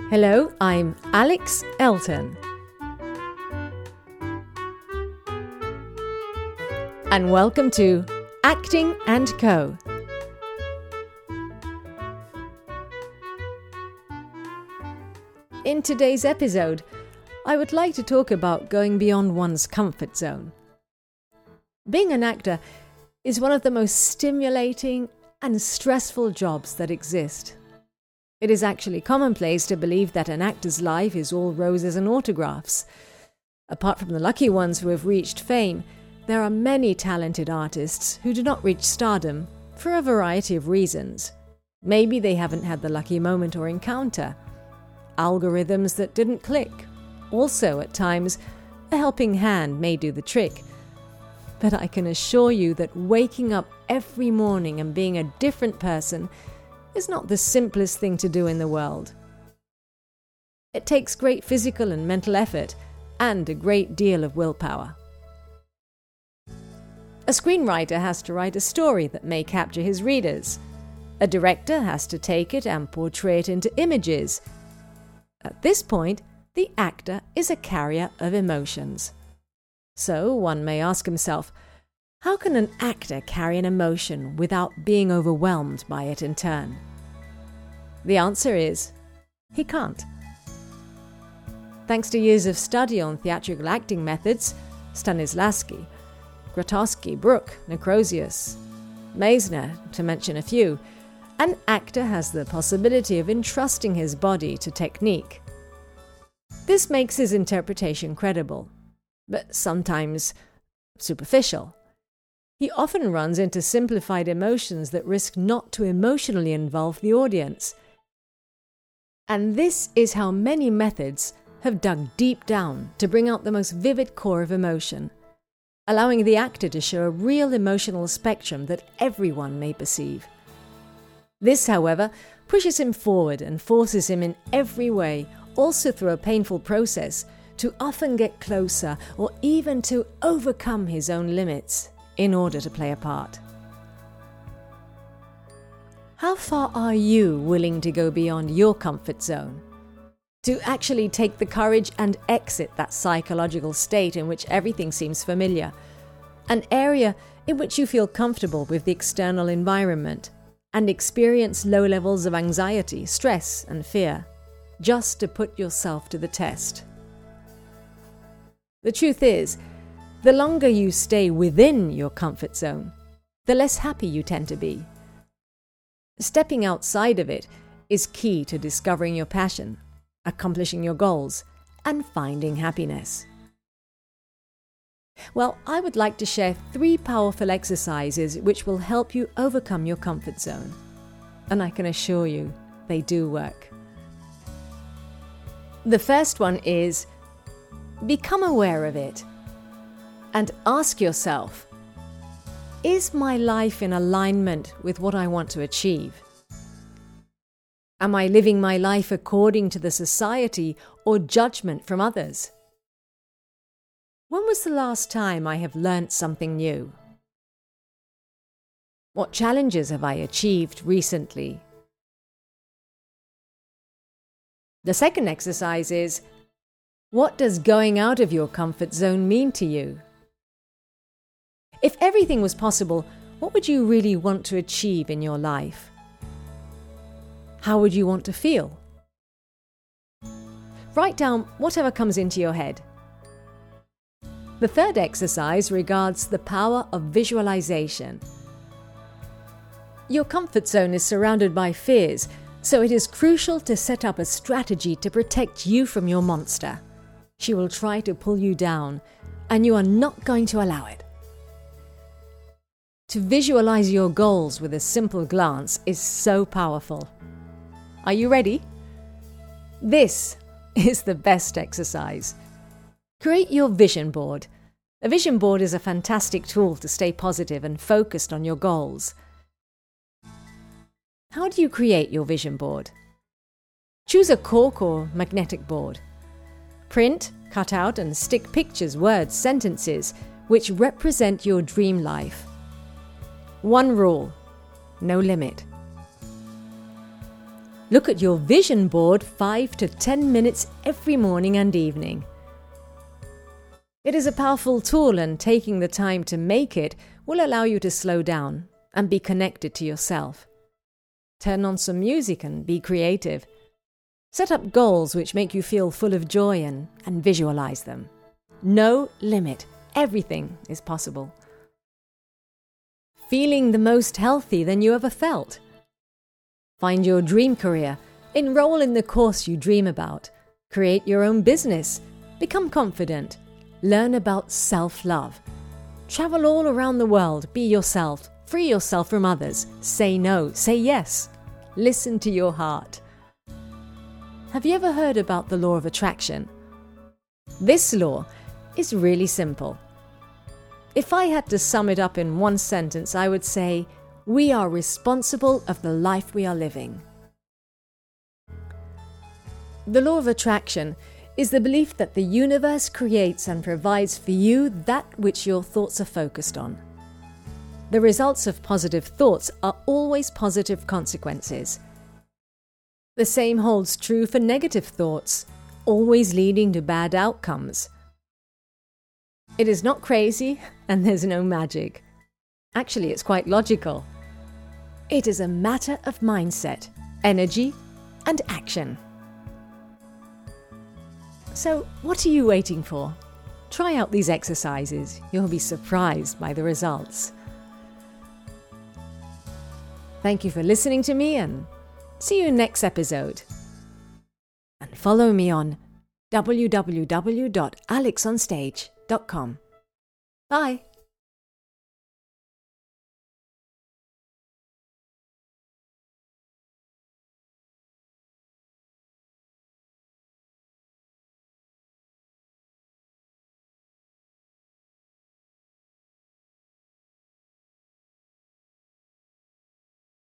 Hello, I'm Alex Elton. And welcome to Acting & Co. In today's episode, I would like to talk about going beyond one's comfort zone. Being an actor is one of the most stimulating and stressful jobs that exist. It is actually commonplace to believe that an actor's life is all roses and autographs. Apart from the lucky ones who have reached fame, there are many talented artists who do not reach stardom for a variety of reasons. Maybe they haven't had the lucky moment or encounter. Algorithms that didn't click. Also, at times, a helping hand may do the trick. But I can assure you that waking up every morning and being a different person is not the simplest thing to do in the world. It takes great physical and mental effort and a great deal of willpower. A screenwriter has to write a story that may capture his readers. A director has to take it and portray it into images. At this point, the actor is a carrier of emotions. So one may ask himself, how can an actor carry an emotion without being overwhelmed by it in turn? The answer is, he can't. Thanks to years of study on theatrical acting methods, Stanislavski, Grotowski, Brooke, Necrosius, Meisner, to mention a few, an actor has the possibility of entrusting his body to technique. This makes his interpretation credible, but sometimes superficial. He often runs into simplified emotions that risk not to emotionally involve the audience. And this is how many methods have dug deep down to bring out the most vivid core of emotion, allowing the actor to show a real emotional spectrum that everyone may perceive. This, however, pushes him forward and forces him in every way, also through a painful process, to often get closer or even to overcome his own limits in order to play a part. How far are you willing to go beyond your comfort zone? To actually take the courage and exit that psychological state in which everything seems familiar, an area in which you feel comfortable with the external environment, and experience low levels of anxiety, stress, and fear, just to put yourself to the test. The truth is, the longer you stay within your comfort zone, the less happy you tend to be. Stepping outside of it is key to discovering your passion, accomplishing your goals, and finding happiness. Well, I would like to share 3 powerful exercises which will help you overcome your comfort zone. And I can assure you, they do work. The first one is, become aware of it and ask yourself, is my life in alignment with what I want to achieve? Am I living my life according to the society or judgment from others? When was the last time I have learnt something new? What challenges have I achieved recently? The second exercise is, what does going out of your comfort zone mean to you? If everything was possible, what would you really want to achieve in your life? How would you want to feel? Write down whatever comes into your head. The third exercise regards the power of visualization. Your comfort zone is surrounded by fears, so it is crucial to set up a strategy to protect you from your monster. She will try to pull you down, and you are not going to allow it. To visualize your goals with a simple glance is so powerful. Are you ready? This is the best exercise. Create your vision board. A vision board is a fantastic tool to stay positive and focused on your goals. How do you create your vision board? Choose a cork or magnetic board. Print, cut out and stick pictures, words, sentences which represent your dream life. One rule: no limit. Look at your vision board 5 to 10 minutes every morning and evening. It is a powerful tool, and taking the time to make it will allow you to slow down and be connected to yourself. Turn on some music and be creative. Set up goals which make you feel full of joy and visualize them. No limit. Everything is possible. Feeling the most healthy than you ever felt. Find your dream career. Enroll in the course you dream about. Create your own business. Become confident. Learn about self-love. Travel all around the world. Be yourself. Free yourself from others. Say no. Say yes. Listen to your heart. Have you ever heard about the law of attraction? This law is really simple. If I had to sum it up in one sentence, I would say, we are responsible of the life we are living. The law of attraction is the belief that the universe creates and provides for you that which your thoughts are focused on. The results of positive thoughts are always positive consequences. The same holds true for negative thoughts, always leading to bad outcomes. It is not crazy, and there's no magic. Actually, it's quite logical. It is a matter of mindset, energy, and action. So, what are you waiting for? Try out these exercises. You'll be surprised by the results. Thank you for listening to me, and see you next episode. And follow me on www.alexonstage.com. Bye.